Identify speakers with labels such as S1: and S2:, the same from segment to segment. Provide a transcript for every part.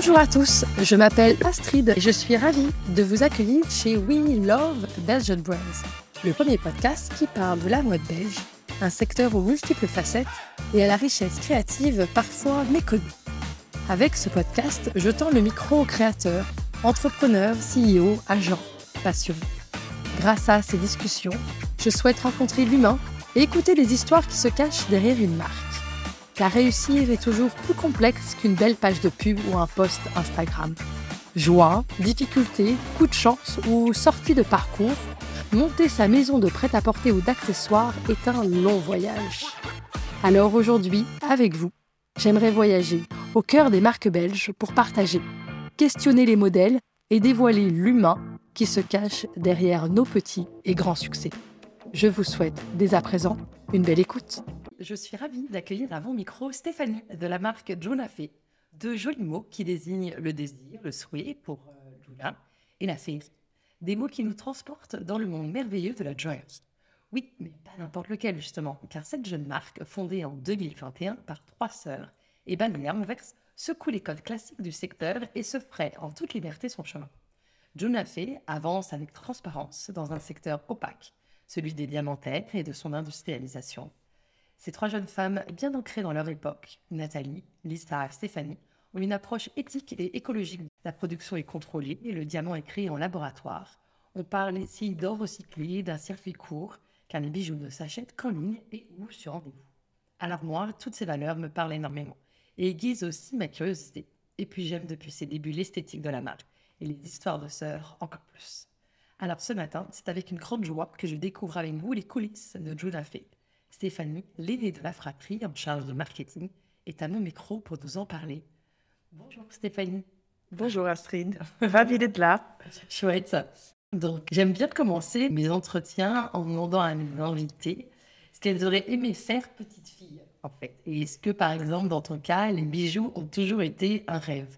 S1: Bonjour à tous, je m'appelle Astrid et je suis ravie de vous accueillir chez We Love Belgian Brands, le premier podcast qui parle de la mode belge, un secteur aux multiples facettes et à la richesse créative parfois méconnue. Avec ce podcast, je tends le micro aux créateurs, entrepreneurs, CEO, agents, passionnés. Grâce à ces discussions, je souhaite rencontrer l'humain et écouter les histoires qui se cachent derrière une marque. Car réussir est toujours plus complexe qu'une belle page de pub ou un post Instagram. Joie, difficultés, coup de chance ou sortie de parcours, monter sa maison de prêt-à-porter ou d'accessoires est un long voyage. Alors aujourd'hui, avec vous, j'aimerais voyager au cœur des marques belges pour partager, questionner les modèles et dévoiler l'humain qui se cache derrière nos petits et grands succès. Je vous souhaite dès à présent une belle écoute. Je suis ravie d'accueillir à mon micro Stéphanie de la marque Jonafe. Deux jolis mots qui désignent le désir, le souhait pour Juna et la féerie. Des mots qui nous transportent dans le monde merveilleux de la joy. Oui, mais pas n'importe lequel justement, car cette jeune marque, fondée en 2021 par 3 sœurs et bannière Anvers, secoue les codes classiques du secteur et se ferait en toute liberté son chemin. Jonafe avance avec transparence dans un secteur opaque, celui des diamantaires et de son industrialisation. Ces 3 jeunes femmes bien ancrées dans leur époque, Nathalie, Lisa et Stéphanie, ont une approche éthique et écologique. La production est contrôlée et le diamant est créé en laboratoire. On parle ici d'or recyclé, d'un circuit court, car les bijoux ne s'achètent qu'en ligne et ou sur rendez-vous. Alors moi, toutes ces valeurs me parlent énormément et aiguisent aussi ma curiosité. Et puis j'aime depuis ses débuts l'esthétique de la marque et les histoires de sœurs encore plus. Alors ce matin, c'est avec une grande joie que je découvre avec vous les coulisses de Jonafe. Stéphanie, l'aînée de la fratrie en charge de marketing, est à mon micro pour nous en parler. Bonjour Stéphanie.
S2: Bonjour Astrid, ravie d'être là.
S1: Chouette. Donc j'aime bien commencer mes entretiens en demandant à mes invités ce qu'elles auraient aimé faire petite fille, en fait. Et est-ce que par exemple dans ton cas, les bijoux ont toujours été un rêve?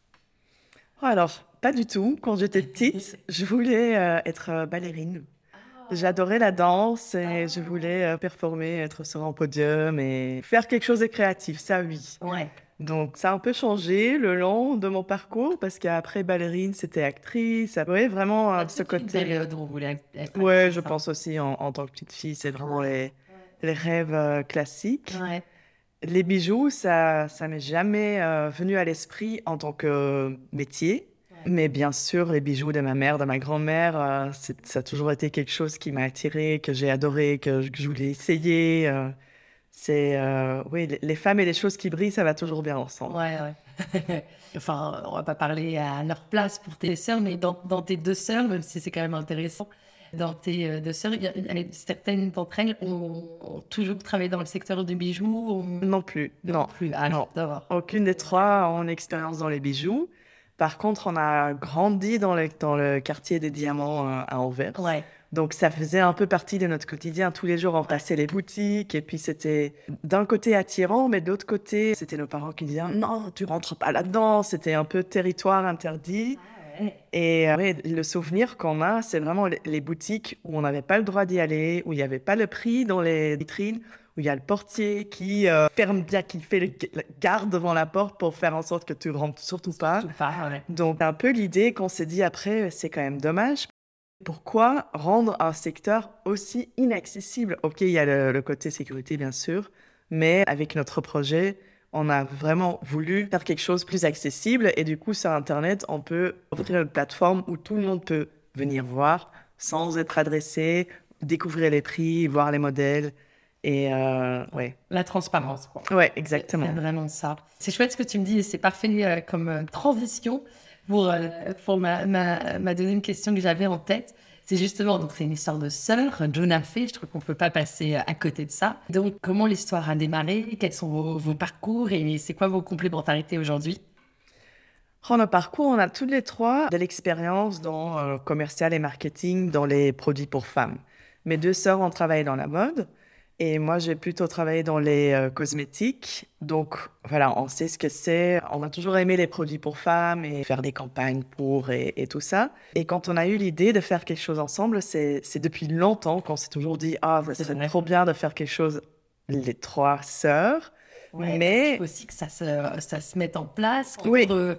S2: Alors, pas du tout. Quand j'étais petite, je voulais être ballerine. J'adorais la danse et je voulais performer, être sur un podium et faire quelque chose de créatif, ça oui.
S1: Ouais.
S2: Donc ça a un peu changé le long de mon parcours parce qu'après ballerine, c'était actrice. Oui, vraiment ce côté.
S1: Période où on voulait être
S2: Ouais,
S1: actrice,
S2: je
S1: hein.
S2: pense aussi en tant que petite fille, c'est vraiment les rêves classiques.
S1: Ouais.
S2: Les bijoux, ça m'est jamais venu à l'esprit en tant que métier. Mais bien sûr, les bijoux de ma mère, de ma grand-mère, ça a toujours été quelque chose qui m'a attirée, que j'ai adoré, que je voulais essayer. Oui, les femmes et les choses qui brillent, ça va toujours bien ensemble.
S1: Ouais. Enfin, on va pas parler à leur place pour tes sœurs, mais dans tes 2 sœurs, même si c'est quand même intéressant, dans tes 2 sœurs, certaines d'entre elles ont toujours travaillé dans le secteur du bijou.
S2: Non plus, non.
S1: Plus. Ah non, d'abord.
S2: Aucune des 3 a en expérience dans les bijoux. Par contre, on a grandi dans le quartier des diamants à Anvers.
S1: Ouais.
S2: Donc, ça faisait un peu partie de notre quotidien. Tous les jours, on passait les boutiques et puis c'était d'un côté attirant, mais de l'autre côté, c'était nos parents qui disaient « Non, tu rentres pas là-dedans ». C'était un peu territoire interdit.
S1: Ah ouais.
S2: Et le souvenir qu'on a, c'est vraiment les boutiques où on n'avait pas le droit d'y aller, où il n'y avait pas le prix dans les vitrines, où il y a le portier qui ferme bien, qui fait le garde devant la porte pour faire en sorte que tu ne rentres surtout pas.
S1: Ouais.
S2: Donc, un peu l'idée qu'on s'est dit après, c'est quand même dommage. Pourquoi rendre un secteur aussi inaccessible? Ok, il y a le côté sécurité, bien sûr, mais avec notre projet, on a vraiment voulu faire quelque chose de plus accessible. Et du coup, sur Internet, on peut offrir une plateforme où tout le monde peut venir voir sans être adressé, découvrir les prix, voir les modèles. Et ouais.
S1: La transparence, quoi.
S2: Ouais, exactement.
S1: C'est vraiment ça. C'est chouette ce que tu me dis et c'est parfait comme transition pour ma deuxième question que j'avais en tête. C'est justement, donc c'est une histoire de sœur, Jonafe, je trouve qu'on ne peut pas passer à côté de ça. Donc, comment l'histoire a démarré? Quels sont vos parcours et c'est quoi vos complémentarités aujourd'hui?
S2: Nos parcours, on a toutes les 3 de l'expérience dans le commercial et marketing dans les produits pour femmes. Mes 2 sœurs ont travaillé dans la mode et moi, j'ai plutôt travaillé dans les cosmétiques. Donc, voilà, on sait ce que c'est. On a toujours aimé les produits pour femmes et faire des campagnes pour et tout ça. Et quand on a eu l'idée de faire quelque chose ensemble, c'est depuis longtemps qu'on s'est toujours dit « Ah, ça serait trop bien de faire quelque chose, les 3 sœurs. »
S1: Ouais,
S2: mais
S1: il faut aussi que ça se mette en place.
S2: Oui.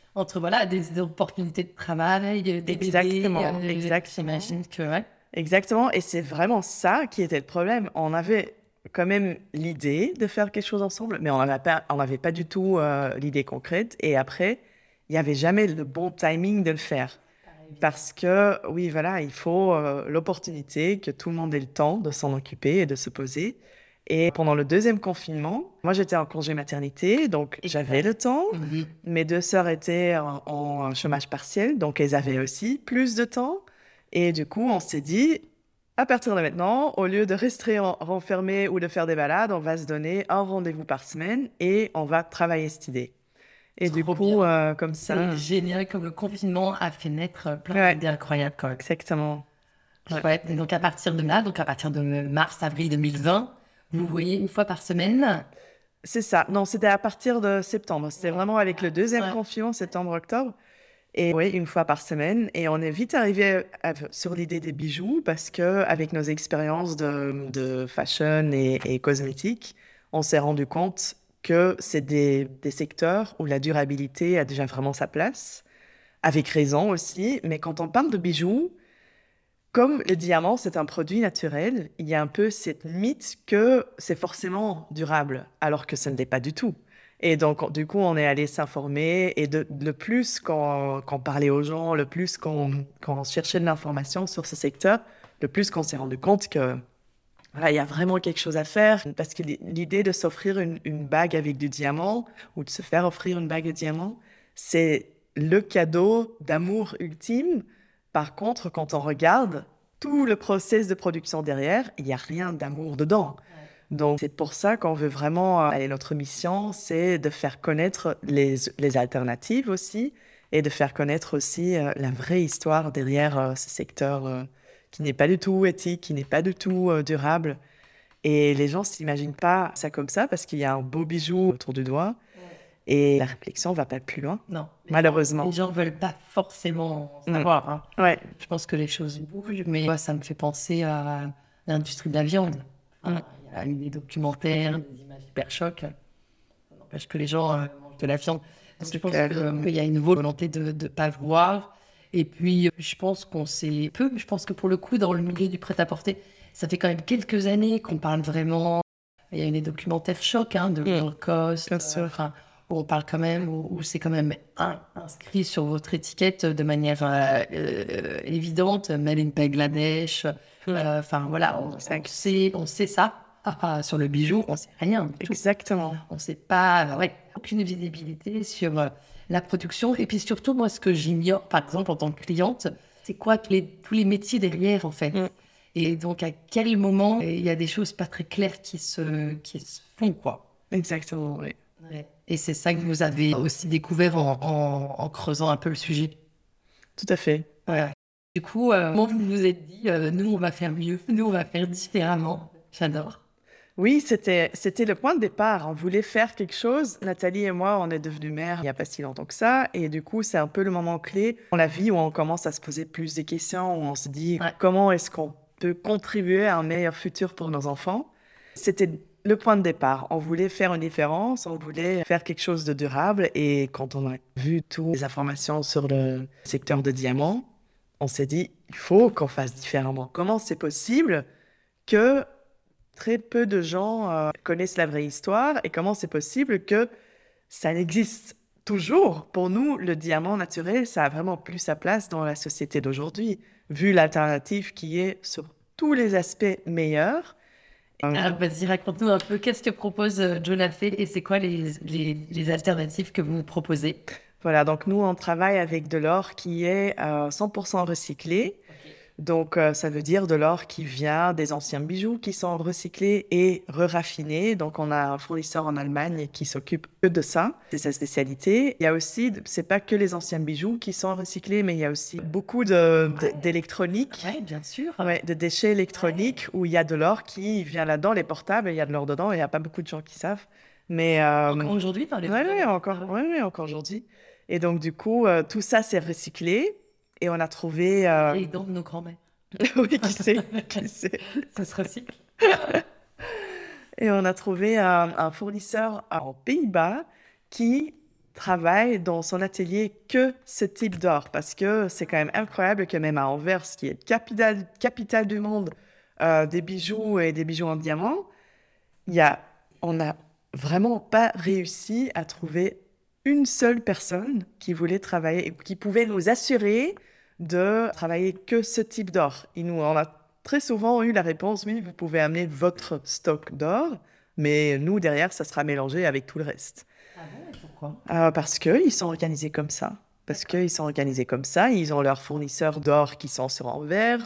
S1: entre voilà, des opportunités de travail, des
S2: Exactement,
S1: bébés,
S2: exactement.
S1: j'imagine que ouais.
S2: Exactement, et c'est vraiment ça qui était le problème. On avait quand même l'idée de faire quelque chose ensemble, mais on n'avait pas du tout l'idée concrète. Et après, il n'y avait jamais le bon timing de le faire. Parce que, oui, voilà, il faut l'opportunité que tout le monde ait le temps de s'en occuper et de se poser. Et pendant le deuxième confinement, moi j'étais en congé maternité, donc j'avais le temps.
S1: Mhm.
S2: Mes deux sœurs étaient en chômage partiel, donc elles avaient aussi plus de temps. Et du coup, on s'est dit, à partir de maintenant, au lieu de rester renfermé ou de faire des balades, on va se donner un rendez-vous par semaine et on va travailler cette idée. Et du
S1: Trop
S2: coup,
S1: bien.
S2: comme
S1: C'est
S2: ça,
S1: génial comme le confinement a fait naître plein
S2: ouais,
S1: d'idées incroyables quand même.
S2: exactement. Ouais.
S1: Ouais. Et donc à partir de là, donc à partir de mars-avril 2020, vous voyez une fois par semaine.
S2: C'est ça. Non, c'était à partir de septembre. C'était vraiment avec le deuxième
S1: Ouais.
S2: confinement, septembre-octobre. Et oui, une fois par semaine. Et on est vite arrivé sur l'idée des bijoux parce que avec nos expériences de fashion et cosmétiques, on s'est rendu compte que c'est des secteurs où la durabilité a déjà vraiment sa place, avec raison aussi. Mais quand on parle de bijoux, comme le diamant, c'est un produit naturel, il y a un peu cette mythe que c'est forcément durable, alors que ce ne l'est pas du tout. Et donc, du coup, on est allé s'informer et le plus qu'on parlait aux gens, le plus qu'on cherchait de l'information sur ce secteur, le plus qu'on s'est rendu compte que voilà, il y a vraiment quelque chose à faire. Parce que l'idée de s'offrir une bague avec du diamant ou de se faire offrir une bague de diamant, c'est le cadeau d'amour ultime. Par contre, quand on regarde tout le process de production derrière, il n'y a rien d'amour dedans. Donc, c'est pour ça qu'on veut vraiment, allez, notre mission, c'est de faire connaître les alternatives aussi et de faire connaître aussi la vraie histoire derrière ce secteur qui n'est pas du tout éthique, qui n'est pas du tout durable. Et les gens ne s'imaginent pas ça comme ça parce qu'il y a un beau bijou autour du doigt et la réflexion ne va pas plus loin,
S1: Non,
S2: malheureusement.
S1: les gens veulent pas forcément
S2: Mm.
S1: savoir, hein.
S2: Ouais.
S1: Je pense que les choses bougent, mais moi, ça me fait penser à l'industrie de la viande. Enfin, il y a eu des documentaires, des images hyper chocs. Ça n'empêche que les gens mangent de la viande. Donc, je pense qu'il y a une volonté de ne pas voir. Et puis, je pense qu'on sait peu. Je pense que pour le coup, dans le milieu du prêt-à-porter, ça fait quand même quelques années qu'on parle vraiment. Il y a eu des documentaires chocs de Lacoste,
S2: Bien sûr.
S1: enfin, où on parle quand même, où c'est quand même inscrit sur votre étiquette de manière évidente, Made in Bangladesh. Enfin, voilà, on sait ça. Sur le bijou, on sait rien du tout.
S2: Exactement.
S1: On sait pas, aucune visibilité sur la production. Et puis surtout, moi, ce que j'ignore, par exemple, en tant que cliente, c'est quoi tous les métiers derrière, en fait. Et donc, à quel moment il y a des choses pas très claires qui se font, quoi.
S2: Exactement, oui.
S1: Ouais. Et c'est ça que vous avez aussi découvert en creusant un peu le sujet.
S2: Tout à fait.
S1: Ouais. Du coup, comment vous vous êtes dit, nous, on va faire mieux, nous, on va faire différemment. J'adore.
S2: Oui, c'était le point de départ. On voulait faire quelque chose. Nathalie et moi, on est devenus mères il n'y a pas si longtemps que ça. Et du coup, c'est un peu le moment clé dans la vie où on commence à se poser plus de questions, où on se dit comment est-ce qu'on peut contribuer à un meilleur futur pour nos enfants. C'était le point de départ. On voulait faire une différence, on voulait faire quelque chose de durable. Et quand on a vu toutes les informations sur le secteur de diamants, on s'est dit, il faut qu'on fasse différemment. Comment c'est possible que très peu de gens connaissent la vraie histoire et comment c'est possible que ça existe toujours. Pour nous, le diamant naturel, ça a vraiment plus sa place dans la société d'aujourd'hui, vu l'alternative qui est sur tous les aspects meilleurs.
S1: Alors, vas-y, raconte-nous un peu qu'est-ce que propose Jonathan et c'est quoi les alternatives que vous proposez?
S2: Voilà, donc nous, on travaille avec de l'or qui est 100% recyclé. Donc, ça veut dire de l'or qui vient des anciens bijoux qui sont recyclés et raffinés. Donc, on a un fournisseur en Allemagne qui s'occupe que de ça. C'est sa spécialité. Il y a aussi, c'est pas que les anciens bijoux qui sont recyclés, mais il y a aussi beaucoup d'électronique.
S1: Oui, bien sûr.
S2: Ouais, de déchets électroniques où il y a de l'or qui vient là-dedans, les portables, il y a de l'or dedans. Il n'y a pas beaucoup de gens qui savent. Mais
S1: Encore aujourd'hui, dans les
S2: encore aujourd'hui. Et donc, du coup, tout ça, c'est recyclé. Et on a trouvé...
S1: les dents de nos grands-mères.
S2: oui, qui sait, qui sait.
S1: Ça se recycle.
S2: Et on a trouvé un fournisseur en Pays-Bas qui travaille dans son atelier que ce type d'or, parce que c'est quand même incroyable que même à Anvers, qui est capitale du monde des bijoux et des bijoux en diamant, on n'a vraiment pas réussi à trouver une seule personne qui voulait travailler et qui pouvait nous assurer de travailler que ce type d'or. On a très souvent eu la réponse, oui, vous pouvez amener votre stock d'or, mais nous, derrière, ça sera mélangé avec tout le reste.
S1: Ah bon, et pourquoi?
S2: Parce qu'ils sont organisés comme ça. Ils ont leurs fournisseurs d'or qui sont sur Anvers.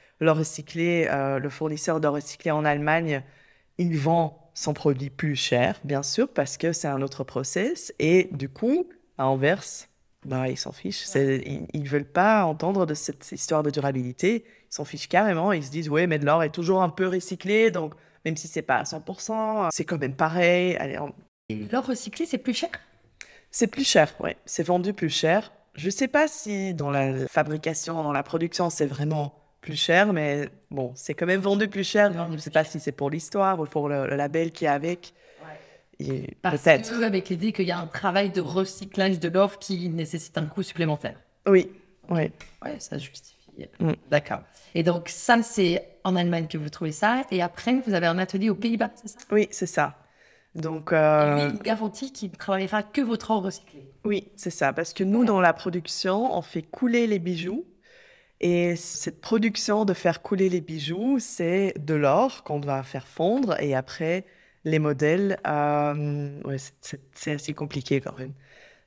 S2: Le fournisseur d'or recyclé en Allemagne, il vend son produit plus cher, bien sûr, parce que c'est un autre process. Et du coup, à Anvers, ils s'en fichent. Ils ne veulent pas entendre de cette histoire de durabilité. Ils s'en fichent carrément. Ils se disent, oui, mais de l'or est toujours un peu recyclé, donc même si ce n'est pas à 100%, c'est quand même pareil. Allez,
S1: Et l'or recyclé, c'est plus cher?
S2: c'est plus cher, oui. C'est vendu plus cher. Je ne sais pas si dans la fabrication, dans la production, c'est vraiment plus cher, mais bon, c'est quand même vendu plus cher. Je ne sais pas si c'est pour l'histoire ou pour le label qui est avec.
S1: Ouais.
S2: Peut-être.
S1: Que, avec l'idée qu'il y a un travail de recyclage de l'or qui nécessite un coût supplémentaire.
S2: Oui.
S1: Ouais, ça justifie. D'accord. Et donc, ça, c'est en Allemagne que vous trouvez ça. Et après, vous avez un atelier aux Pays-Bas, c'est ça?
S2: Oui, c'est ça. Donc,
S1: Et lui, il vous garantit qu'il ne travaillera que votre or recyclé.
S2: Oui, c'est ça. Parce que nous, dans la production, on fait couler les bijoux. Et cette production de faire couler les bijoux, c'est de l'or qu'on va faire fondre. Et après, les modèles, c'est assez compliqué quand même.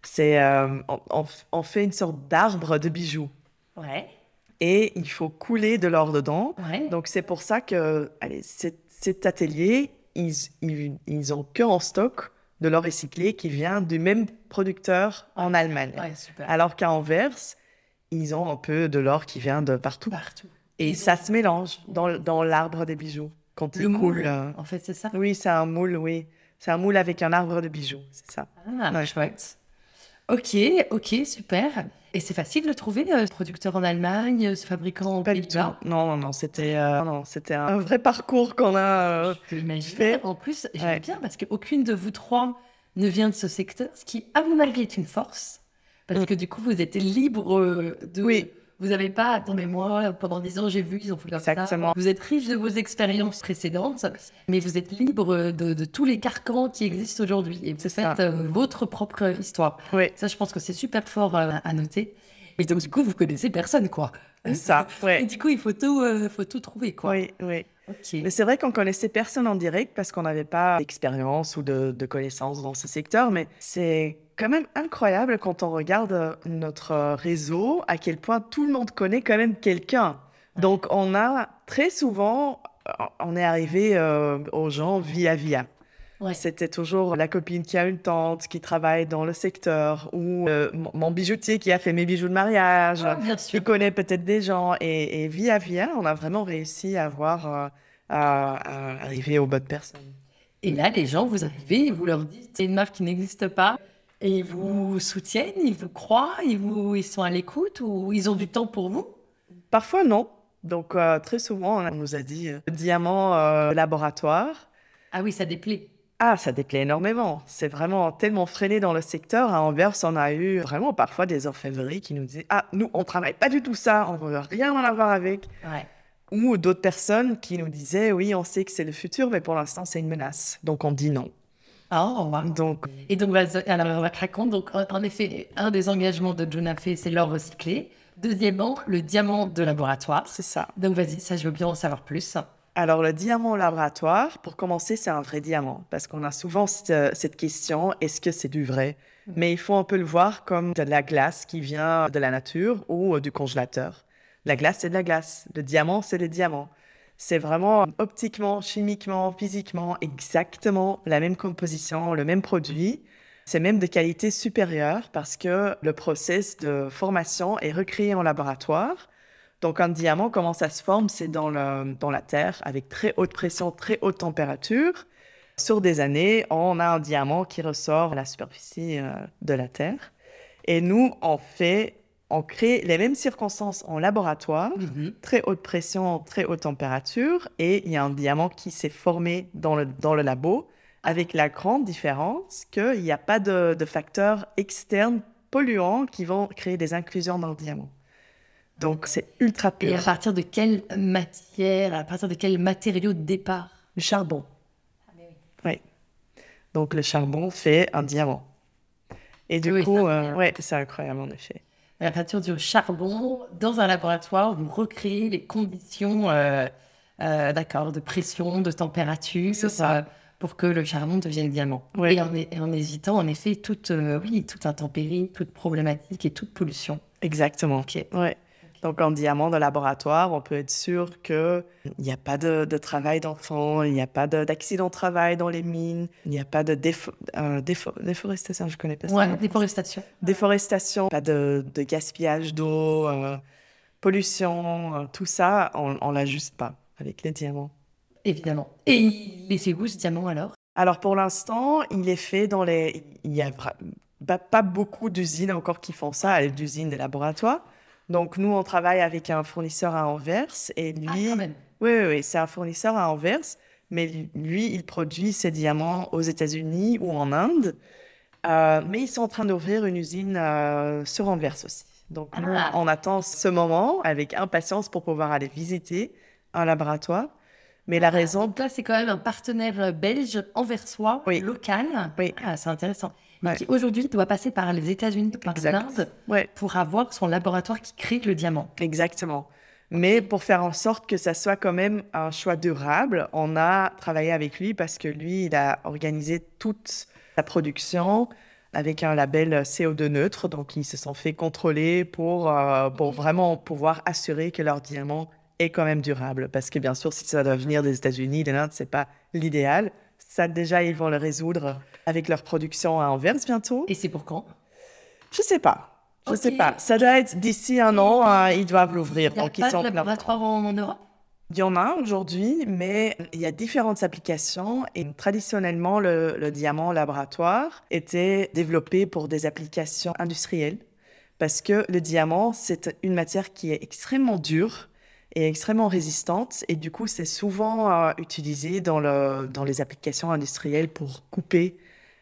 S2: On fait une sorte d'arbre de bijoux.
S1: Ouais.
S2: Et il faut couler de l'or dedans.
S1: Ouais.
S2: Donc, c'est pour ça que cet atelier, ils ont que en stock de l'or recyclé qui vient du même producteur en Allemagne.
S1: Ouais, super.
S2: Alors qu'à Anvers, ils ont un peu de l'or qui vient de partout. Et ça se mélange dans l'arbre des bijoux. Quand il coule.
S1: En fait, c'est ça?
S2: Oui, c'est un moule, oui. C'est un moule avec un arbre de bijoux, c'est ça.
S1: Ah, chouette. Ok, super. Et c'est facile de trouver ce producteur en Allemagne, ce fabricant aux Pays-Bas?
S2: Non, c'était un vrai parcours qu'on a
S1: fait. En plus, j'aime bien parce qu'aucune de vous trois ne vient de ce secteur, ce qui, à mon avis, est une force. Parce que du coup, vous êtes libre de...
S2: Oui.
S1: Vous n'avez pas, attendez, moi, pendant 10 ans, j'ai vu qu'ils ont fait comme ça. Vous êtes riche de vos expériences précédentes, mais vous êtes libre de tous les carcans qui existent aujourd'hui. Et vous faites votre propre histoire.
S2: Oui.
S1: Ça, je pense que c'est super fort à noter. Et donc, du coup, vous connaissez personne, quoi.
S2: Ça, ouais.
S1: Et du coup, il faut tout trouver, quoi.
S2: Oui.
S1: Okay.
S2: Mais c'est vrai qu'on connaissait personne en direct parce qu'on n'avait pas d'expérience ou de connaissances dans ce secteur, mais c'est quand même incroyable quand on regarde notre réseau, à quel point tout le monde connaît quand même quelqu'un. Donc, on est arrivé aux gens via. Ouais. C'était toujours la copine qui a une tante qui travaille dans le secteur ou mon bijoutier qui a fait mes bijoux de mariage, qui connaît peut-être des gens. Et via, on a vraiment réussi à arriver aux bonnes personnes.
S1: Et là, les gens, vous arrivez, vous leur dites c'est une marque qui n'existe pas. Et ils vous soutiennent, ils vous croient, ils sont à l'écoute ou ils ont du temps pour vous?
S2: Parfois, non. Donc, très souvent, on nous a dit diamant laboratoire.
S1: Ah oui, ça déplaît.
S2: Ah, ça déplaît énormément. C'est vraiment tellement freiné dans le secteur. À Anvers, on a eu vraiment parfois des orfèvreries qui nous disaient « Ah, nous, on ne travaille pas du tout ça, on ne veut rien en avoir avec.
S1: Ouais. » Ou
S2: d'autres personnes qui nous disaient « Oui, on sait que c'est le futur, mais pour l'instant, c'est une menace. » Donc, on dit non.
S1: Oh, wow. Et donc, alors, raconte, donc, en effet, un des engagements de Junafé, c'est l'or recyclé. Deuxièmement, le diamant de laboratoire.
S2: C'est ça.
S1: Donc, vas-y, ça, je veux bien en savoir plus.
S2: Alors, le diamant laboratoire, pour commencer, c'est un vrai diamant. Parce qu'on a souvent cette question, est-ce que c'est du vrai? Mais il faut un peu le voir comme de la glace qui vient de la nature ou du congélateur. La glace, c'est de la glace. Le diamant, c'est le diamant. C'est vraiment optiquement, chimiquement, physiquement, exactement la même composition, le même produit. C'est même de qualité supérieure parce que le process de formation est recréé en laboratoire. Donc, un diamant, comment ça se forme? C'est dans la terre avec très haute pression, très haute température. Sur des années, on a un diamant qui ressort à la superficie de la terre. Et nous, on crée les mêmes circonstances en laboratoire, très haute pression, très haute température, et il y a un diamant qui s'est formé dans le labo avec la grande différence qu'il n'y a pas de facteurs externes polluants qui vont créer des inclusions dans le diamant. Donc, c'est ultra pur.
S1: Et à partir de quelle matière, à partir de quel matériau de départ?
S2: Le charbon.
S1: Ah, mais oui.
S2: Oui. Donc, le charbon fait un diamant. Et du
S1: Oui,
S2: coup,
S1: c'est incroyable.
S2: c'est incroyable en effet.
S1: À partir du charbon, dans un laboratoire, vous recréez les conditions d'accord, de pression, de température,
S2: C'est ça.
S1: pour que le charbon devienne diamant.
S2: Oui.
S1: Et en évitant, en effet, toute intempérie, toute problématique et toute pollution.
S2: Exactement.
S1: Ok.
S2: Ouais. Donc, en diamant de laboratoire, on peut être sûr qu'il n'y a pas de travail d'enfant, il n'y a pas d'accident de travail dans les mines, il n'y a pas de déforestation, je ne connais pas ça.
S1: Ouais, déforestation.
S2: Déforestation, pas de gaspillage d'eau, pollution, tout ça, on ne l'a juste pas avec les diamants.
S1: Évidemment. Et il est fait où ce diamant alors?
S2: Alors, pour l'instant, il est fait dans les... Il n'y a pas beaucoup d'usines encore qui font ça, d'usines de laboratoire. Donc, nous, on travaille avec un fournisseur à Anvers et lui...
S1: Ah, quand même.
S2: Oui, c'est un fournisseur à Anvers, mais lui, il produit ses diamants aux États-Unis ou en Inde. Mais ils sont en train d'ouvrir une usine sur Anvers aussi. Donc, nous, on attend ce moment avec impatience pour pouvoir aller visiter un laboratoire. Mais la raison...
S1: Donc là, c'est quand même un partenaire belge anversois,
S2: Oui.
S1: local.
S2: Oui.
S1: Ah, c'est intéressant. Mais
S2: Ouais.
S1: qui aujourd'hui doit passer par les États-Unis, par
S2: Exact.
S1: l'Inde,
S2: Ouais.
S1: pour avoir son laboratoire qui crée le diamant.
S2: Exactement. Mais pour faire en sorte que ça soit quand même un choix durable, on a travaillé avec lui parce que lui, il a organisé toute sa production avec un label CO2 neutre. Donc, ils se sont fait contrôler pour vraiment pouvoir assurer que leur diamant est quand même durable. Parce que bien sûr, si ça doit venir des États-Unis, de l'Inde, c'est pas l'idéal. Ça, déjà, ils vont le résoudre avec leur production à Anvers bientôt.
S1: Et c'est pour quand?
S2: Je sais pas. Je
S1: Ok.
S2: sais pas. Ça doit être d'ici un an, ils doivent l'ouvrir.
S1: Il n'y a
S2: Donc, ils
S1: pas
S2: sont
S1: de
S2: en plein
S1: laboratoire en Europe?
S2: Il y en a aujourd'hui, mais il y a différentes applications. Et traditionnellement, le diamant laboratoire était développé pour des applications industrielles. Parce que le diamant, c'est une matière qui est extrêmement dure et extrêmement résistante. Et du coup, c'est souvent utilisé dans les applications industrielles pour couper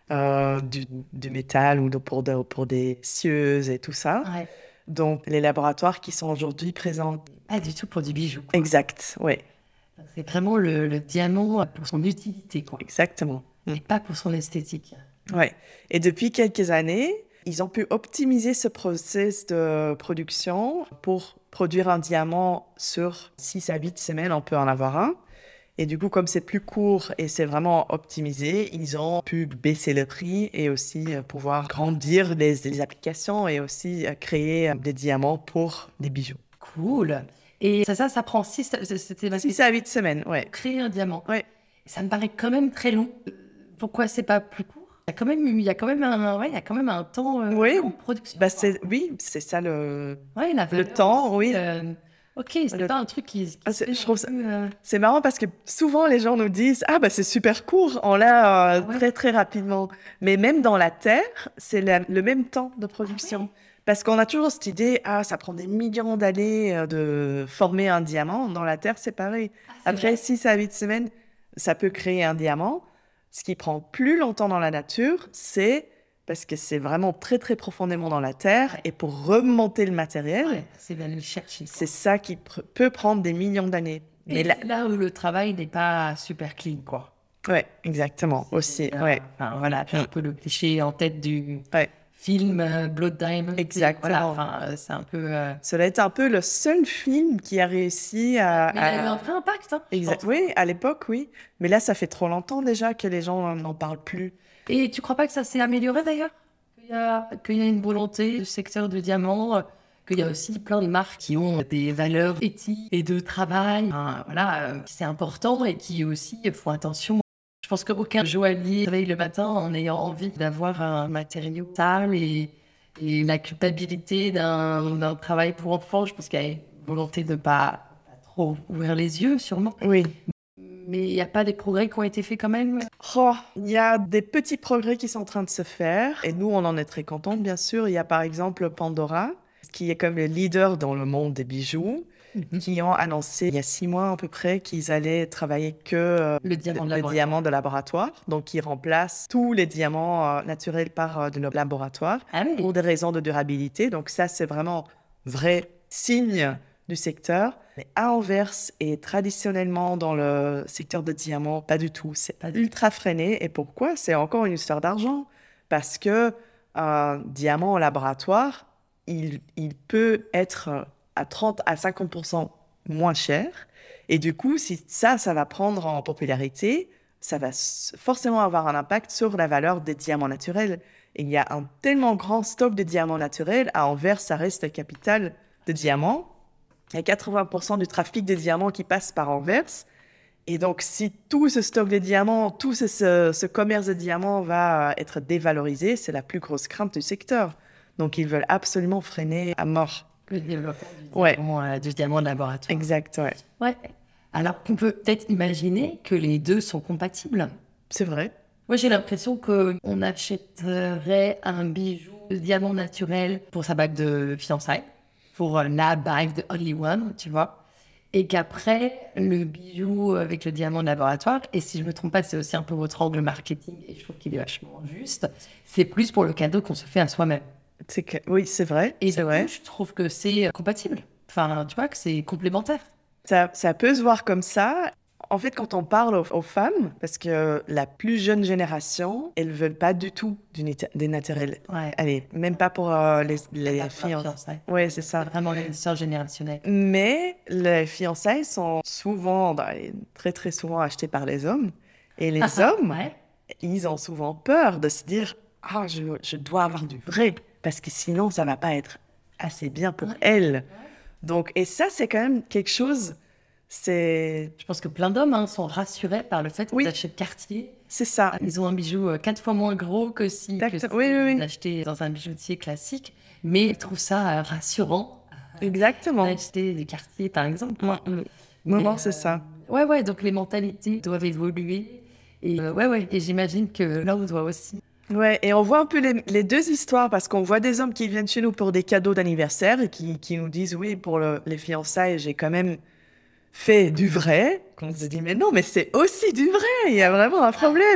S2: du métal ou pour des scieuses et tout ça.
S1: Ouais.
S2: Donc, les laboratoires qui sont aujourd'hui présents.
S1: Pas du tout pour du bijou, quoi.
S2: Exact, oui,
S1: C'est vraiment le diamant pour son utilité, quoi.
S2: exactement.
S1: Et pas pour son esthétique.
S2: Ouais. Et depuis quelques années, ils ont pu optimiser ce process de production pour produire un diamant sur 6 à 8 semaines, on peut en avoir un. Et du coup, comme c'est plus court et c'est vraiment optimisé, ils ont pu baisser le prix et aussi pouvoir grandir les applications et aussi créer des diamants pour des bijoux.
S1: Cool. Et ça prend c'était ma
S2: 6 à 8 semaines, ouais.
S1: créer un diamant.
S2: Ouais.
S1: Ça me paraît quand même très long. Pourquoi c'est pas plus court? Il y a quand même un temps
S2: Oui.
S1: long de production.
S2: Bah, oui, c'est ça le...
S1: Ouais, la valeur
S2: temps,
S1: aussi,
S2: oui.
S1: ok, c'est
S2: Le-
S1: pas un truc qui
S2: Ah,
S1: se fait
S2: je trouve ça...
S1: non plus,
S2: C'est marrant parce que souvent les gens nous disent « Ah, bah c'est super court, on l'a
S1: Ouais.
S2: très très rapidement. » Mais même dans la Terre, c'est le même temps de production. Parce qu'on a toujours cette idée « Ah, ça prend des millions d'années de former un diamant. » Dans la Terre, c'est pareil. Après 6 à 8 semaines, ça peut créer un diamant. Ce qui prend plus longtemps dans la nature, c'est parce que c'est vraiment très très profondément dans la Terre. Et pour remonter le matériel,
S1: Ouais, c'est d'aller le chercher.
S2: c'est ça qui peut prendre des millions d'années.
S1: Mais là où le travail n'est pas super clean, quoi.
S2: Ouais, exactement, aussi, ouais.
S1: Enfin, voilà, tu as un peu le cliché en tête du
S2: Ouais.
S1: film Blood Diamond.
S2: Exactement.
S1: Voilà, enfin, c'est un peu...
S2: Cela est un peu le seul film qui a réussi
S1: Mais il a eu un vrai impact, hein, je pense.
S2: Oui, à l'époque, oui. Mais là, ça fait trop longtemps déjà que les gens n'en parlent plus.
S1: Et tu crois pas que ça s'est amélioré d'ailleurs? Qu'il y a une volonté du secteur du diamant, qu'il y a aussi plein de marques qui ont des valeurs éthiques et de travail, enfin, voilà, c'est important et qui aussi font attention. Je pense qu'aucun joaillier se réveille le matin en ayant envie d'avoir un matériau sale et la culpabilité d'un travail pour enfants. Je pense qu'il y a une volonté de ne pas trop ouvrir les yeux, sûrement.
S2: Oui.
S1: Mais il n'y a pas des progrès qui ont été faits quand même?
S2: Oh, il y a des petits progrès qui sont en train de se faire. Et nous, on en est très contents, bien sûr. Il y a par exemple Pandora, qui est comme le leader dans le monde des bijoux. qui ont annoncé il y a 6 mois à peu près qu'ils allaient travailler que
S1: Le diamant de
S2: le
S1: laboratoire.
S2: diamant de laboratoire. Donc, ils remplacent tous les diamants naturels par de nos laboratoires
S1: Ah oui.
S2: pour des raisons de durabilité. Donc, ça, c'est vraiment vrai signe du secteur. Mais à Anvers et traditionnellement dans le secteur de diamants, pas du tout. C'est ultra freiné. Et pourquoi? C'est encore une histoire d'argent. Parce que un diamant au laboratoire, il peut être à 30 à 50% moins cher. Et du coup, si ça va prendre en popularité, ça va forcément avoir un impact sur la valeur des diamants naturels. Et il y a un tellement grand stock de diamants naturels. À Anvers, ça reste la capitale de diamants. Il y a 80% du trafic des diamants qui passe par Anvers. Et donc, si tout ce stock de diamants, tout ce commerce de diamants va être dévalorisé, c'est la plus grosse crainte du secteur. Donc, ils veulent absolument freiner à mort.
S1: Le développement
S2: Ouais,
S1: du diamant de laboratoire.
S2: exact, ouais.
S1: Ouais. Alors qu'on peut peut-être imaginer que les deux sont compatibles.
S2: C'est vrai.
S1: Moi, j'ai l'impression qu'on achèterait un bijou de diamant naturel pour sa bague de fiançailles, pour la bague de Only One, tu vois. Et qu'après, le bijou avec le diamant de laboratoire, et si je me trompe pas, c'est aussi un peu votre angle marketing, et je trouve qu'il est vachement juste, c'est plus pour le cadeau qu'on se fait à soi-même.
S2: Oui, c'est vrai.
S1: Et
S2: c'est
S1: du
S2: vrai.
S1: coup, je trouve que c'est compatible. Enfin, tu vois, que c'est complémentaire.
S2: Ça peut se voir comme ça. En fait, quand on parle aux femmes, parce que la plus jeune génération, elles veulent pas du tout des naturels.
S1: Ouais.
S2: Allez, même pas pour les filles.
S1: Fiançailles.
S2: Oui, c'est ça.
S1: C'est vraiment l'histoire générationnelle.
S2: Mais les fiançailles sont souvent, très très souvent achetées par les hommes. Et les hommes,
S1: Ouais.
S2: ils ont souvent peur de se dire « Ah, je dois avoir du vrai, parce que sinon, ça va pas être assez bien pour elle. » Donc, et ça, c'est quand même quelque chose, c'est
S1: Je pense que plein d'hommes sont rassurés par le fait qu'ils achètent Cartier.
S2: ça.
S1: Ils ont un bijou 4 fois moins gros que si
S2: Oui.
S1: achetaient dans un bijoutier classique. Mais ils trouvent ça rassurant
S2: Exactement.
S1: d'acheter des Cartier, par exemple.
S2: Non, c'est ça.
S1: Ouais, donc les mentalités doivent évoluer. Et et j'imagine que l'homme doit aussi.
S2: Ouais, et on voit un peu les deux histoires, parce qu'on voit des hommes qui viennent chez nous pour des cadeaux d'anniversaire et qui nous disent « Oui, pour les fiançailles, j'ai quand même fait du vrai. » Qu'on se dit « Mais non, mais c'est aussi du vrai, il y a vraiment un problème. »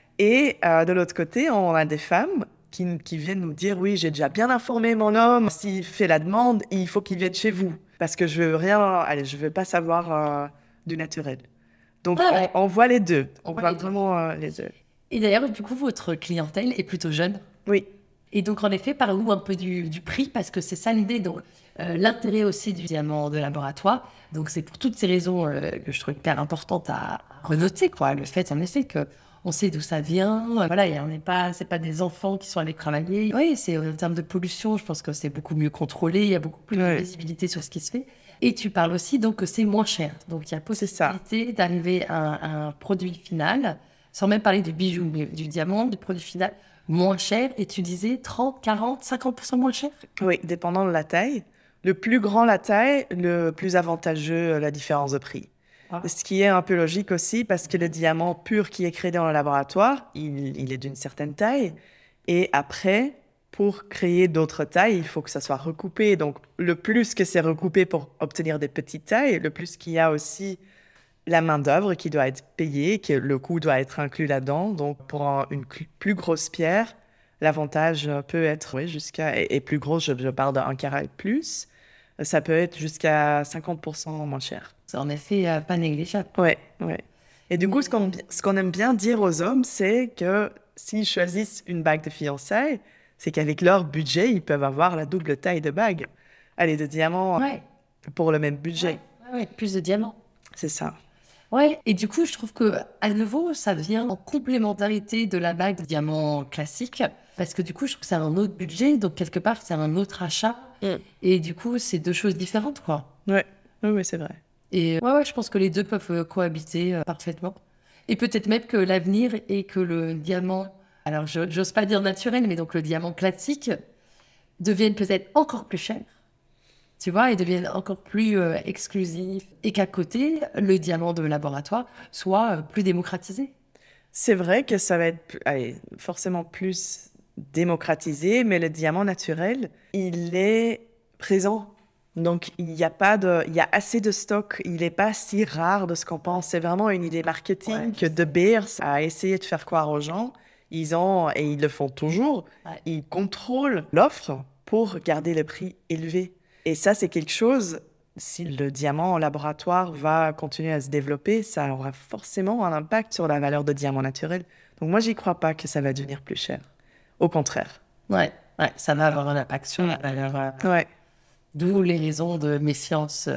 S2: Et de l'autre côté, on a des femmes qui viennent nous dire « Oui, j'ai déjà bien informé mon homme. S'il fait la demande, il faut qu'il vienne chez vous. Parce que je veux pas savoir du naturel. » Donc, on voit les deux. On voit vraiment les deux.
S1: Et d'ailleurs, du coup, votre clientèle est plutôt jeune.
S2: Oui.
S1: Et donc, en effet, parlez-nous un peu du prix, parce que c'est ça l'idée. Donc, l'intérêt aussi du diamant de laboratoire. Donc, c'est pour toutes ces raisons que je trouve hyper importantes à renoter, quoi. Le fait, en effet, qu'on sait d'où ça vient. Voilà, et c'est pas des enfants qui sont allés travailler. Oui, c'est en termes de pollution, je pense que c'est beaucoup mieux contrôlé. Il y a beaucoup plus de visibilité sur ce qui se fait. Et tu parles aussi donc que c'est moins cher. Donc, il y a possibilité d'arriver à un produit final, sans même parler du bijou, mais du diamant, du produit final moins cher. Et tu disais 30, 40, 50% moins cher?
S2: Oui, dépendant de la taille. Le plus grand la taille, le plus avantageux la différence de prix. Ce qui est un peu logique aussi, parce que le diamant pur qui est créé dans le laboratoire, il est d'une certaine taille. Et après, pour créer d'autres tailles, il faut que ça soit recoupé. Donc, le plus que c'est recoupé pour obtenir des petites tailles, le plus qu'il y a aussi la main-d'œuvre qui doit être payée, que le coût doit être inclus là-dedans. Donc, pour une plus grosse pierre, l'avantage peut être jusqu'à, et plus gros, je parle d'un carat et plus, ça peut être jusqu'à 50% moins cher.
S1: C'est en effet pas négligeable.
S2: Ouais. Et du coup, ce qu'on aime bien dire aux hommes, c'est que s'ils choisissent une bague de fiançailles, c'est qu'avec leur budget, ils peuvent avoir la double taille de bague. Allez, de diamants pour le même budget.
S1: Ouais, plus de diamants.
S2: C'est ça.
S1: Ouais, et du coup, je trouve que à nouveau, ça vient en complémentarité de la bague de diamant classique, parce que du coup, je trouve que c'est un autre budget, donc quelque part, c'est un autre achat, et du coup, c'est deux choses différentes, quoi.
S2: Oui, c'est vrai.
S1: Et je pense que les deux peuvent cohabiter parfaitement. Et peut-être même que l'avenir est que le diamant, alors j'ose pas dire naturel, mais donc le diamant classique, devienne peut-être encore plus cher. Tu vois, et deviennent encore plus exclusifs, et qu'à côté, le diamant de laboratoire soit plus démocratisé.
S2: C'est vrai que ça va être forcément plus démocratisé, mais le diamant naturel, il est présent Donc, il y a assez de stock. Il n'est pas si rare de ce qu'on pense. C'est vraiment une idée marketing que De Beers a essayé de faire croire aux gens. Et ils le font toujours, ils contrôlent l'offre pour garder le prix élevé. Et ça, c'est quelque chose, si le diamant en laboratoire va continuer à se développer, ça aura forcément un impact sur la valeur de diamant naturel. Donc moi, j'y crois pas que ça va devenir plus cher. Au contraire.
S1: Ouais, ça va avoir un impact sur la valeur. D'où les raisons de méfiance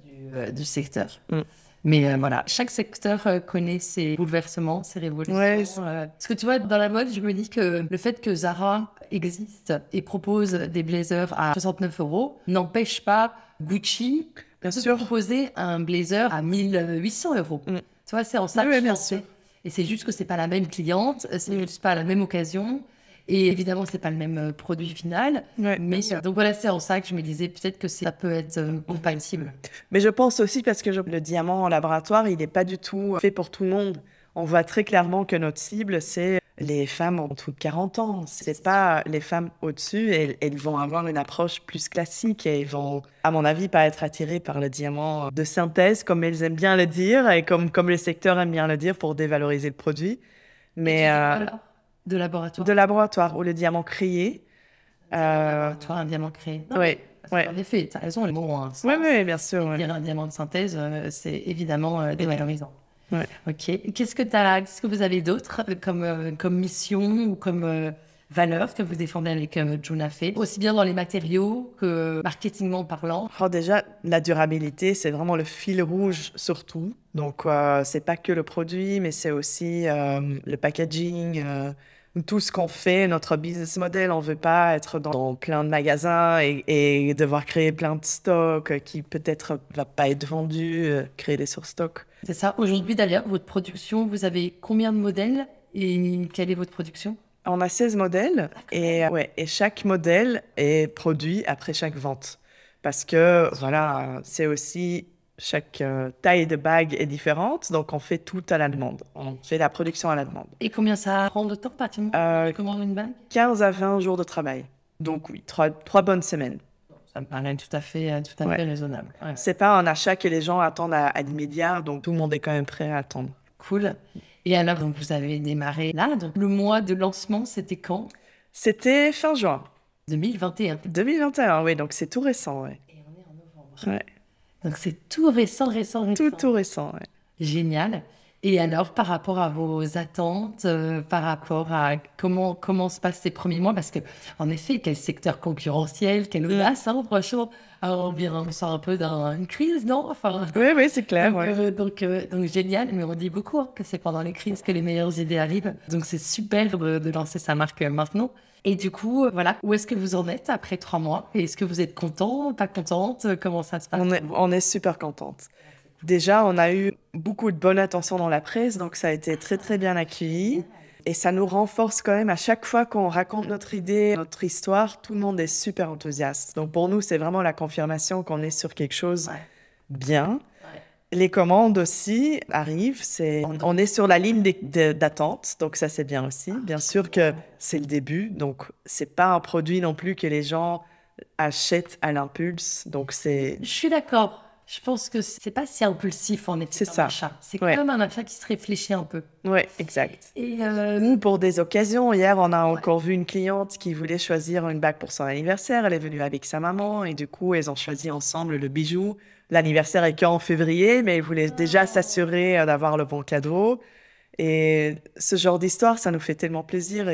S1: du secteur. Mais voilà, chaque secteur connaît ses bouleversements, ses révolutions. Parce que tu vois, dans la mode, je me dis que le fait que Zara existe et propose des blazers à 69 € n'empêche pas Gucci de proposer un blazer à 1800 €. Tu vois, c'est en ça que je pensais. Et c'est juste que c'est pas la même cliente, c'est juste pas la même occasion. Et évidemment, c'est pas le même produit final. Mais donc voilà, c'est en ça que je me disais peut-être que ça peut être compatible.
S2: Mais je pense aussi parce que le diamant en laboratoire, il n'est pas du tout fait pour tout le monde. On voit très clairement que notre cible, c'est les femmes en dessous de 40 ans. C'est pas les femmes au-dessus. Elles vont avoir une approche plus classique et elles vont, à mon avis, pas être attirées par le diamant de synthèse, comme elles aiment bien le dire et comme les secteurs aiment bien le dire pour dévaloriser le produit. Mais
S1: de laboratoire.
S2: De laboratoire, ou le diamant créé.
S1: Laboratoire, un diamant créé.
S2: Oui.
S1: En effet, tu as raison, le mot a un sens.
S2: Oui, bien sûr.
S1: Dire un diamant de synthèse, c'est évidemment dévalorisant. Ok. Qu'est-ce que vous avez d'autre comme mission ou comme valeur que vous défendez avec Juna Fe, aussi bien dans les matériaux que marketingment parlant?
S2: Déjà, la durabilité, c'est vraiment le fil rouge surtout. Donc, c'est pas que le produit, mais c'est aussi le packaging, tout ce qu'on fait, notre business model. On veut pas être dans plein de magasins et devoir créer plein de stocks qui peut-être va pas être vendus, créer des surstocks.
S1: C'est ça. Aujourd'hui, d'ailleurs, votre production, vous avez combien de modèles et quelle est votre production?
S2: On a 16 modèles et chaque modèle est produit après chaque vente. Parce que, voilà, c'est aussi chaque taille de bague est différente, donc on fait tout à la demande. On fait la production à la demande.
S1: Et combien ça prend de temps, pratiquement, tu commandes une bague?
S2: 15 à 20 jours de travail. Donc oui, 3 bonnes semaines.
S1: Ça me paraît tout à fait raisonnable.
S2: C'est pas un achat que les gens attendent à l'immédiat, donc tout le monde est quand même prêt à attendre.
S1: Cool. Et alors, donc, vous avez démarré là. Donc, le mois de lancement, c'était quand?
S2: C'était fin juin.
S1: 2021.
S2: 2021, oui, donc c'est tout récent,
S1: Et on est en novembre. Donc, c'est tout récent.
S2: Tout récent,
S1: Génial. Et alors, par rapport à vos attentes, par rapport à comment se passent ces premiers mois, parce que, en effet, quel secteur concurrentiel, quelle audace, franchement, on sort un peu d'une crise, non?
S2: Oui, c'est clair.
S1: Donc, génial, mais on dit beaucoup que c'est pendant les crises que les meilleures idées arrivent. Donc, c'est super de lancer sa marque maintenant. Et du coup, voilà, où est-ce que vous en êtes après 3 mois? Et est-ce que vous êtes content, pas contente? Comment ça se passe?
S2: On est super contente. Déjà, on a eu beaucoup de bonne attention dans la presse, donc ça a été très, très bien accueilli. Et ça nous renforce quand même à chaque fois qu'on raconte notre idée, notre histoire, tout le monde est super enthousiaste. Donc pour nous, c'est vraiment la confirmation qu'on est sur quelque chose bien. Les commandes aussi arrivent, on est sur la ligne d'attente, donc ça c'est bien aussi. Bien sûr que c'est le début, donc c'est pas un produit non plus que les gens achètent à l'impulse. Donc
S1: Je suis d'accord. Je pense que c'est pas si impulsif en effet.
S2: C'est ça.
S1: Achat. C'est quand même un achat qui se réfléchit un peu.
S2: Oui, exact.
S1: Et
S2: nous, pour des occasions, hier, on a encore vu une cliente qui voulait choisir une bague pour son anniversaire. Elle est venue avec sa maman et du coup, elles ont choisi ensemble le bijou. L'anniversaire est qu'en février, mais ils voulaient déjà s'assurer d'avoir le bon cadeau. Et ce genre d'histoire, ça nous fait tellement plaisir.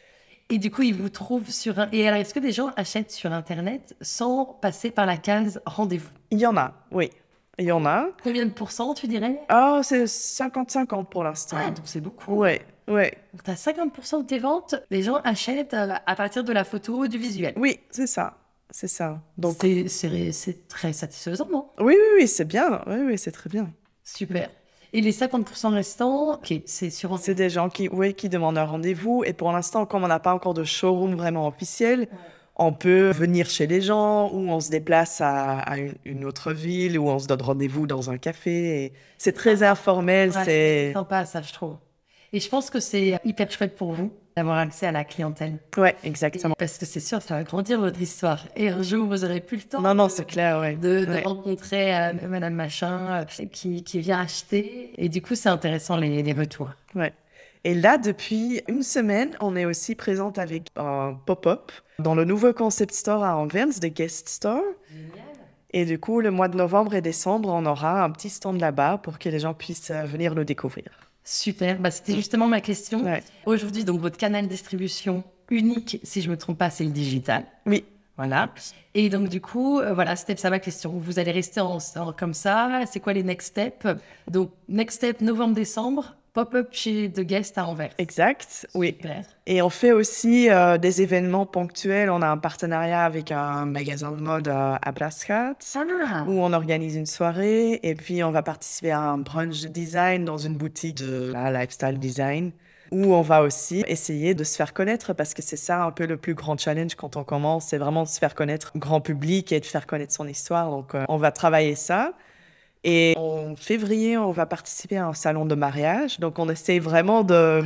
S1: Et du coup, ils vous trouvent Et alors, est-ce que des gens achètent sur Internet sans passer par la case rendez-vous?
S2: Il y en a, oui. Il y en a.
S1: Combien de pourcents, tu dirais?
S2: C'est 50-50 pour l'instant.
S1: Ah, donc c'est beaucoup.
S2: Oui.
S1: Donc, tu as 50% de tes ventes, les gens achètent à partir de la photo ou du visuel.
S2: Oui, c'est ça. Donc,
S1: c'est très satisfaisant, non?
S2: Oui, c'est bien. Oui, c'est très bien.
S1: Super. Et les 50% restants, c'est
S2: des gens qui demandent un rendez-vous. Et pour l'instant, comme on n'a pas encore de showroom vraiment officiel, on peut venir chez les gens ou on se déplace à une autre ville ou on se donne rendez-vous dans un café. Et c'est très informel.
S1: C'est sympa, ça, je trouve. Et je pense que c'est hyper chouette pour vous d'avoir accès à la clientèle.
S2: Ouais, exactement.
S1: Parce que c'est sûr, ça va grandir votre histoire. Et un jour, vous aurez plus le temps
S2: Non, c'est clair, ouais.
S1: de
S2: Ouais.
S1: rencontrer Madame Machin qui vient acheter. Et du coup, c'est intéressant les retours.
S2: Ouais. Et là, depuis une semaine, on est aussi présente avec un pop-up dans le nouveau concept store à Anvers, The Guest Store.
S1: Génial.
S2: Et du coup, le mois de novembre et décembre, on aura un petit stand là-bas pour que les gens puissent venir le découvrir.
S1: Super. C'était justement ma question.
S2: Ouais.
S1: Aujourd'hui, donc, votre canal de distribution unique, si je ne me trompe pas, c'est le digital.
S2: Oui.
S1: Voilà. Et donc, du coup, voilà, c'était ça ma question. Vous allez rester comme ça. C'est quoi les next steps? Donc, next step, novembre-décembre, pop-up chez The Guest à Anvers.
S2: Exact, oui.
S1: Super.
S2: Et on fait aussi des événements ponctuels. On a un partenariat avec un magasin de mode à Brascat où on organise une soirée. Et puis, on va participer à un brunch de design dans une boutique de lifestyle design où on va aussi essayer de se faire connaître parce que c'est ça un peu le plus grand challenge quand on commence. C'est vraiment de se faire connaître au grand public et de faire connaître son histoire. Donc, on va travailler ça. Et en février, on va participer à un salon de mariage. Donc, on essaie vraiment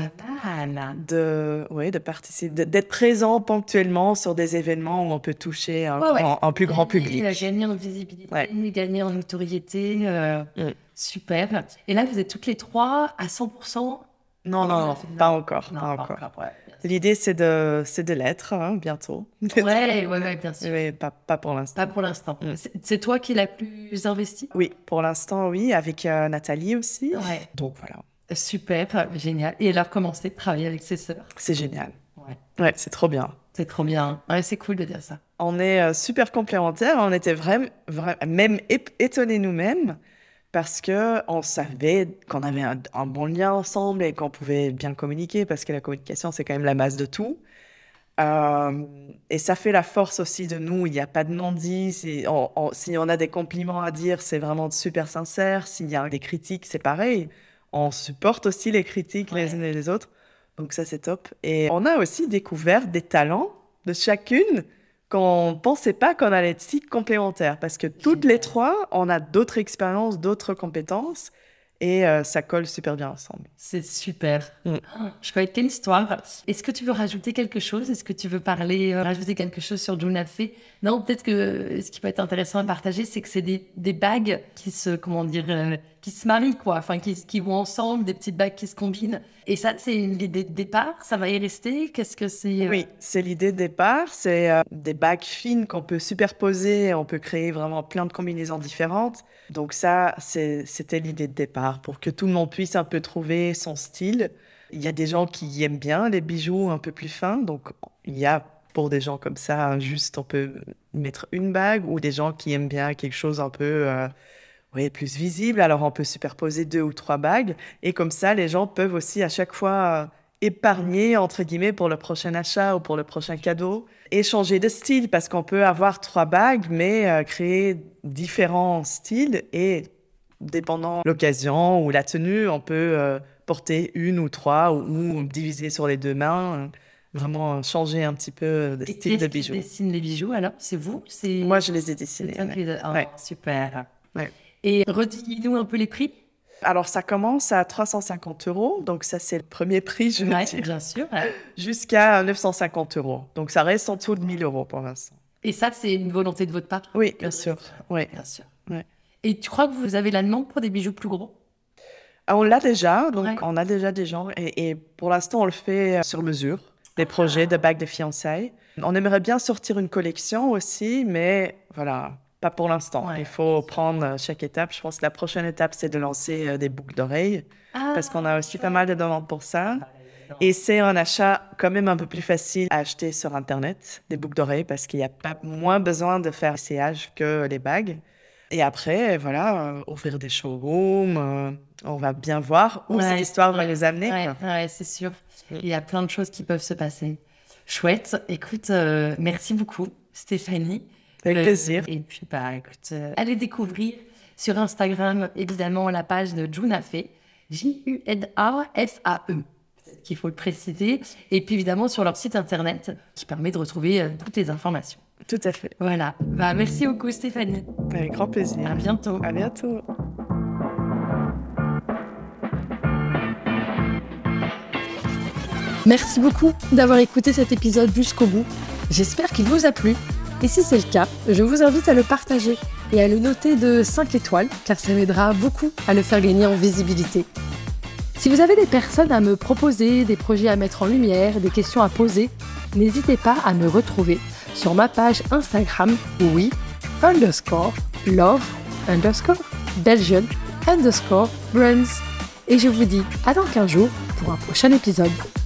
S2: d'être présent ponctuellement sur des événements où on peut toucher un plus grand public.
S1: Gagner en visibilité, gagner en notoriété. Super. Et là, vous êtes toutes les trois à 100%?
S2: Non, pas encore.
S1: Ouais.
S2: L'idée, c'est de l'être bientôt.
S1: Ouais, bien sûr.
S2: Mais pas pour l'instant.
S1: Pas pour l'instant. C'est toi qui l'as plus investi?
S2: Oui, pour l'instant, oui, avec Nathalie aussi.
S1: Ouais.
S2: Donc voilà.
S1: Super, génial. Et alors, commencer de travailler avec ses sœurs?
S2: C'est génial.
S1: Ouais,
S2: c'est trop bien.
S1: C'est trop bien. Ouais, c'est cool de dire ça.
S2: On est super complémentaires. On était vraiment même étonnés nous-mêmes parce qu'on savait qu'on avait un bon lien ensemble et qu'on pouvait bien communiquer parce que la communication, c'est quand même la base de tout. Et ça fait la force aussi de nous. Il n'y a pas de non-dit. Si on a des compliments à dire, c'est vraiment super sincère. S'il y a des critiques, c'est pareil. On supporte aussi les critiques les unes et les autres. Donc ça, c'est top. Et on a aussi découvert des talents de chacune qu'on ne pensait pas qu'on allait être si complémentaires. Parce que toutes les trois, on a d'autres expériences, d'autres compétences. Et ça colle super bien ensemble.
S1: C'est super. Je connais quelle histoire. Est-ce que tu veux rajouter quelque chose? Est-ce que tu veux rajouter quelque chose sur June Lafay? Non, peut-être que ce qui peut être intéressant à partager, c'est que c'est des bagues qui se marient, quoi. Enfin, qui vont ensemble, des petites bagues qui se combinent. Et ça, c'est l'idée de départ? Ça va y rester? Qu'est-ce que c'est?
S2: Oui, c'est l'idée de départ. C'est des bagues fines qu'on peut superposer. On peut créer vraiment plein de combinaisons différentes. Donc ça, c'était l'idée de départ pour que tout le monde puisse un peu trouver son style. Il y a des gens qui aiment bien les bijoux un peu plus fins. Donc, il y a pour des gens comme ça, juste on peut mettre une bague ou des gens qui aiment bien quelque chose un peu plus visible. Alors, on peut superposer 2 ou 3 bagues. Et comme ça, les gens peuvent aussi à chaque fois épargner, entre guillemets, pour le prochain achat ou pour le prochain cadeau. Et changer de style parce qu'on peut avoir 3 bagues, mais créer différents styles. Et dépendant de l'occasion ou la tenue, on peut porter 1 ou 3 ou diviser sur les 2 mains. Vraiment changer un petit peu de style de bijoux.
S1: Qui dessine les bijoux, alors? C'est vous?
S2: Moi, je les ai dessinés.
S1: Super.
S2: Ouais.
S1: Et redis-nous un peu les prix.
S2: Alors, ça commence à 350 €. Donc, ça, c'est le premier prix, je veux dire.
S1: Bien sûr.
S2: Jusqu'à 950 €. Donc, ça reste en dessous de 1 000 € pour l'instant.
S1: Et ça, c'est une volonté de votre part?
S2: Oui, bien sûr. Oui.
S1: Bien sûr.
S2: Ouais.
S1: Et tu crois que vous avez la demande pour des bijoux plus gros?
S2: On l'a déjà. Donc, on a déjà des gens. Et pour l'instant, on le fait sur mesure. Des projets de bagues de fiançailles. On aimerait bien sortir une collection aussi, mais voilà, pas pour l'instant. Il faut prendre chaque étape. Je pense que la prochaine étape, c'est de lancer des boucles d'oreilles, parce qu'on a aussi pas mal de demandes pour ça. Et c'est un achat quand même un peu plus facile à acheter sur Internet, des boucles d'oreilles, parce qu'il y a pas moins besoin de faire essayage que les bagues. Et après, voilà, ouvrir des showrooms, on va bien voir où cette histoire va nous amener.
S1: Ouais, c'est sûr. Il y a plein de choses qui peuvent se passer. Chouette. Écoute, merci beaucoup, Stéphanie.
S2: Avec plaisir.
S1: Et puis, écoute, allez découvrir sur Instagram, évidemment, la page de June Lafay, Junafae, qu'il faut le préciser. Et puis, évidemment, sur leur site internet, qui permet de retrouver toutes les informations.
S2: Tout à fait.
S1: Voilà. Merci beaucoup, Stéphanie.
S2: Avec grand plaisir.
S1: À bientôt.
S2: À bientôt.
S1: Merci beaucoup d'avoir écouté cet épisode jusqu'au bout. J'espère qu'il vous a plu. Et si c'est le cas, je vous invite à le partager et à le noter de 5 étoiles, car ça m'aidera beaucoup à le faire gagner en visibilité. Si vous avez des personnes à me proposer, des projets à mettre en lumière, des questions à poser, n'hésitez pas à me retrouver sur ma page Instagram we_love_Belgian_brands. Et je vous dis à dans 15 jours pour un prochain épisode.